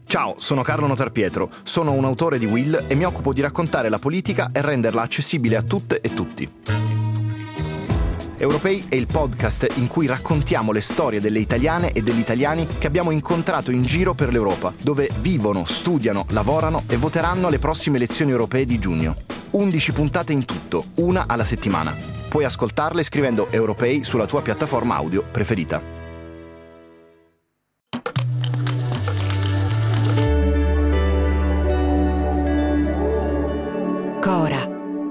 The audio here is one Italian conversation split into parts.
Ciao, sono Carlo Notarpietro, sono un autore di Will e mi occupo di raccontare la politica e renderla accessibile a tutte e tutti. Europei è il podcast in cui raccontiamo le storie delle italiane e degli italiani che abbiamo incontrato in giro per l'Europa, dove vivono, studiano, lavorano e voteranno alle prossime elezioni europee di giugno. 11 puntate in tutto, una alla settimana. Puoi ascoltarle scrivendo Europei sulla tua piattaforma audio preferita. Cora.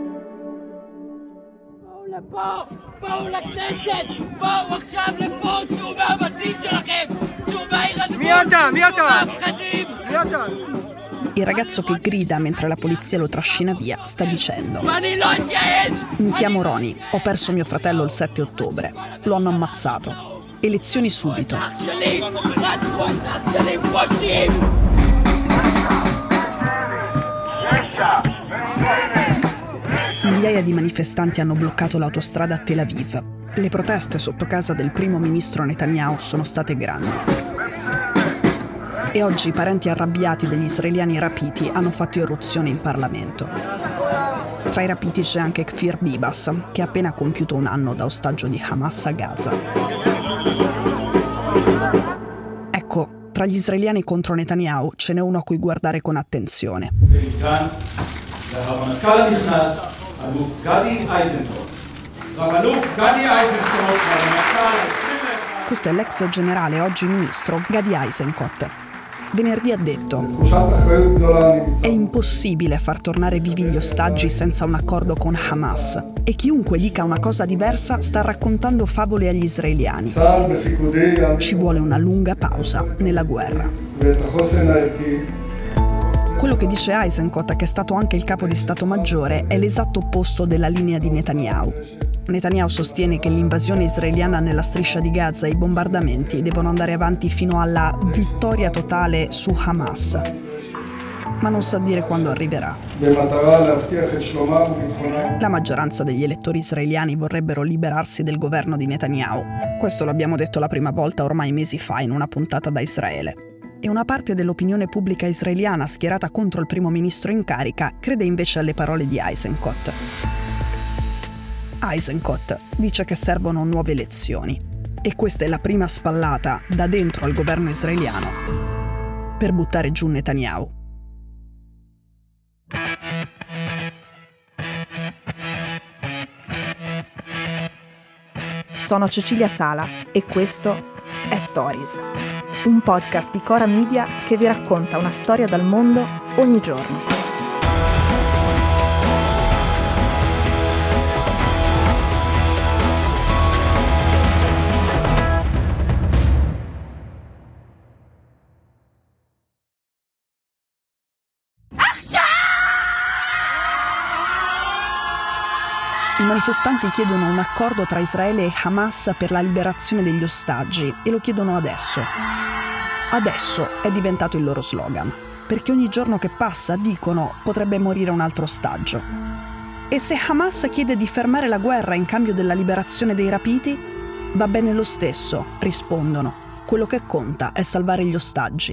בואו לכנסת! בואו עכשיו לפה! צאו מהבתים שלכם! צאו מהעיר אדמות! מי אתה? Il ragazzo che grida mentre la polizia lo trascina via sta dicendo: mi chiamo Roni, ho perso mio fratello il 7 ottobre. Lo hanno ammazzato. Elezioni subito. Migliaia di manifestanti hanno bloccato l'autostrada a Tel Aviv. Le proteste sotto casa del primo ministro Netanyahu sono state grandi. E oggi i parenti arrabbiati degli israeliani rapiti hanno fatto irruzione in Parlamento. Tra i rapiti c'è anche Kfir Bibas, che ha appena compiuto un anno da ostaggio di Hamas a Gaza. Ecco, tra gli israeliani contro Netanyahu ce n'è uno a cui guardare con attenzione. Questo è l'ex generale, oggi ministro, Gadi Eisenkot. Venerdì ha detto: è impossibile far tornare vivi gli ostaggi senza un accordo con Hamas, e chiunque dica una cosa diversa sta raccontando favole agli israeliani. Ci vuole una lunga pausa nella guerra. Quello che dice Eisenkot, che è stato anche il capo di Stato Maggiore, è l'esatto opposto della linea di Netanyahu. Netanyahu sostiene che l'invasione israeliana nella striscia di Gaza e i bombardamenti devono andare avanti fino alla vittoria totale su Hamas. Ma non sa dire quando arriverà. La maggioranza degli elettori israeliani vorrebbero liberarsi del governo di Netanyahu. Questo l'abbiamo detto la prima volta ormai mesi fa in una puntata da Israele. E una parte dell'opinione pubblica israeliana schierata contro il primo ministro in carica crede invece alle parole di Eisenkot. Eisenkot dice che servono nuove elezioni, e questa è la prima spallata da dentro al governo israeliano per buttare giù Netanyahu. Sono Cecilia Sala e questo è Stories, un podcast di Cora Media che vi racconta una storia dal mondo ogni giorno. I manifestanti chiedono un accordo tra Israele e Hamas per la liberazione degli ostaggi e lo chiedono adesso. Adesso è diventato il loro slogan, perché ogni giorno che passa, dicono, potrebbe morire un altro ostaggio. E se Hamas chiede di fermare la guerra in cambio della liberazione dei rapiti, va bene lo stesso, rispondono. Quello che conta è salvare gli ostaggi.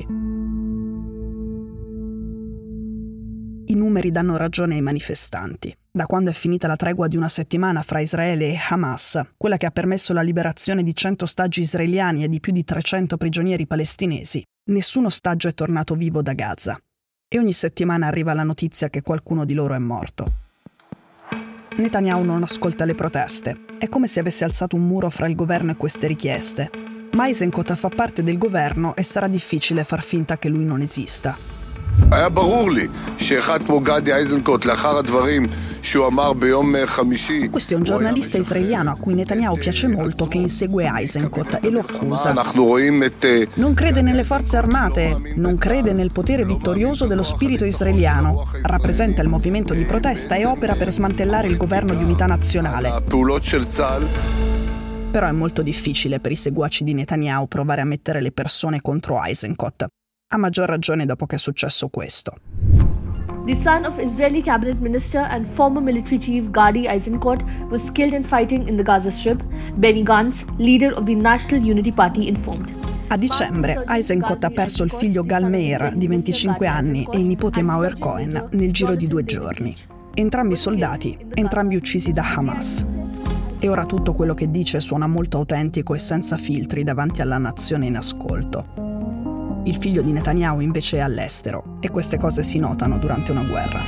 I numeri danno ragione ai manifestanti. Da quando è finita la tregua di una settimana fra Israele e Hamas, quella che ha permesso la liberazione di 100 ostaggi israeliani e di più di 300 prigionieri palestinesi, nessun ostaggio è tornato vivo da Gaza. E ogni settimana arriva la notizia che qualcuno di loro è morto. Netanyahu non ascolta le proteste. È come se avesse alzato un muro fra il governo e queste richieste. Ma Eisenkot fa parte del governo e sarà difficile far finta che lui non esista. היה ברור לי שאחד כמו גדי איזנקוט לאחר הדברים שהוא אמר ביום חמישי. Questo è un giornalista israeliano a cui Netanyahu piace molto, che insegue Eisenkot e lo accusa. Non crede nelle forze armate, non crede nel potere vittorioso dello spirito israeliano, rappresenta il movimento di protesta e opera per smantellare il governo di unità nazionale. Però è molto difficile per i seguaci di Netanyahu provare a mettere le persone contro Eisenkot. A maggior ragione dopo che è successo questo. The son of Israeli cabinet minister and former military chief Gadi Eisenkot was killed in fighting in the Gaza Strip, Benny Gantz, leader of the National Unity Party, informed. A dicembre, Eisenkot ha perso il figlio Gal Meir, di 25 anni, e il nipote Mauer Cohen, nel giro di 2 giorni. Entrambi soldati, entrambi uccisi da Hamas. E ora tutto quello che dice suona molto autentico e senza filtri davanti alla nazione in ascolto. Il figlio di Netanyahu invece è all'estero, e queste cose si notano durante una guerra.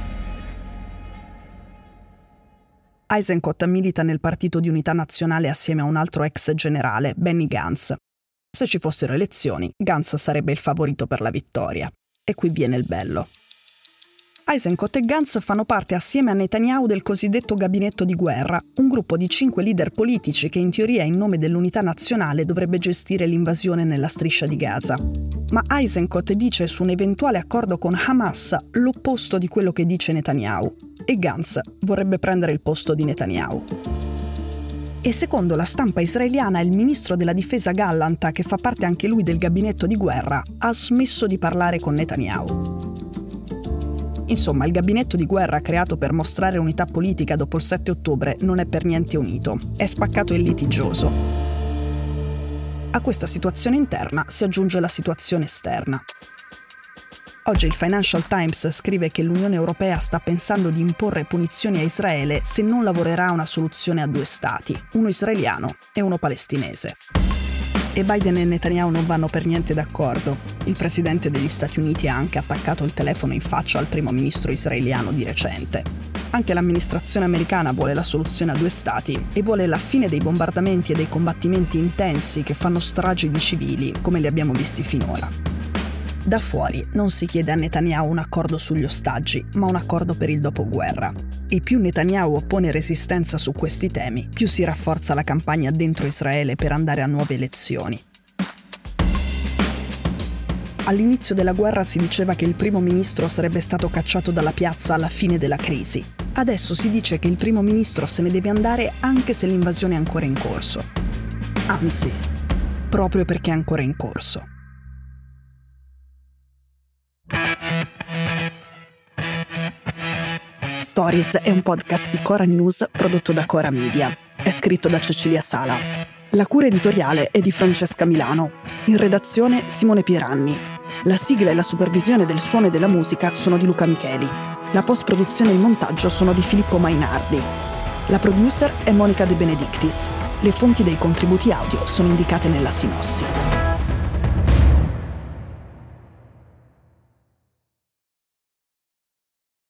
Eisenkot milita nel Partito di Unità Nazionale assieme a un altro ex generale, Benny Gantz. Se ci fossero elezioni, Gantz sarebbe il favorito per la vittoria. E qui viene il bello. Eisenkot e Gantz fanno parte assieme a Netanyahu del cosiddetto gabinetto di guerra, un gruppo di 5 leader politici che in teoria in nome dell'unità nazionale dovrebbe gestire l'invasione nella striscia di Gaza. Ma Eisenkot dice su un eventuale accordo con Hamas l'opposto di quello che dice Netanyahu, e Gantz vorrebbe prendere il posto di Netanyahu. E secondo la stampa israeliana il ministro della difesa Gallant, che fa parte anche lui del gabinetto di guerra, ha smesso di parlare con Netanyahu. Insomma, il gabinetto di guerra creato per mostrare unità politica dopo il 7 ottobre non è per niente unito, è spaccato e litigioso. A questa situazione interna si aggiunge la situazione esterna. Oggi il Financial Times scrive che l'Unione Europea sta pensando di imporre punizioni a Israele se non lavorerà a una soluzione a 2 stati, uno israeliano e uno palestinese. E Biden e Netanyahu non vanno per niente d'accordo. Il presidente degli Stati Uniti ha anche attaccato il telefono in faccia al primo ministro israeliano di recente. Anche l'amministrazione americana vuole la soluzione a 2 stati e vuole la fine dei bombardamenti e dei combattimenti intensi che fanno stragi di civili, come li abbiamo visti finora. Da fuori non si chiede a Netanyahu un accordo sugli ostaggi, ma un accordo per il dopoguerra. E più Netanyahu oppone resistenza su questi temi, più si rafforza la campagna dentro Israele per andare a nuove elezioni. All'inizio della guerra si diceva che il primo ministro sarebbe stato cacciato dalla piazza alla fine della crisi. Adesso si dice che il primo ministro se ne deve andare anche se l'invasione è ancora in corso. Anzi, proprio perché è ancora in corso. Stories è un podcast di Cora News prodotto da Cora Media. È scritto da Cecilia Sala. La cura editoriale è di Francesca Milano. In redazione Simone Pieranni. La sigla e la supervisione del suono e della musica sono di Luca Micheli. La post-produzione e il montaggio sono di Filippo Mainardi. La producer è Monica De Benedictis. Le fonti dei contributi audio sono indicate nella sinossi.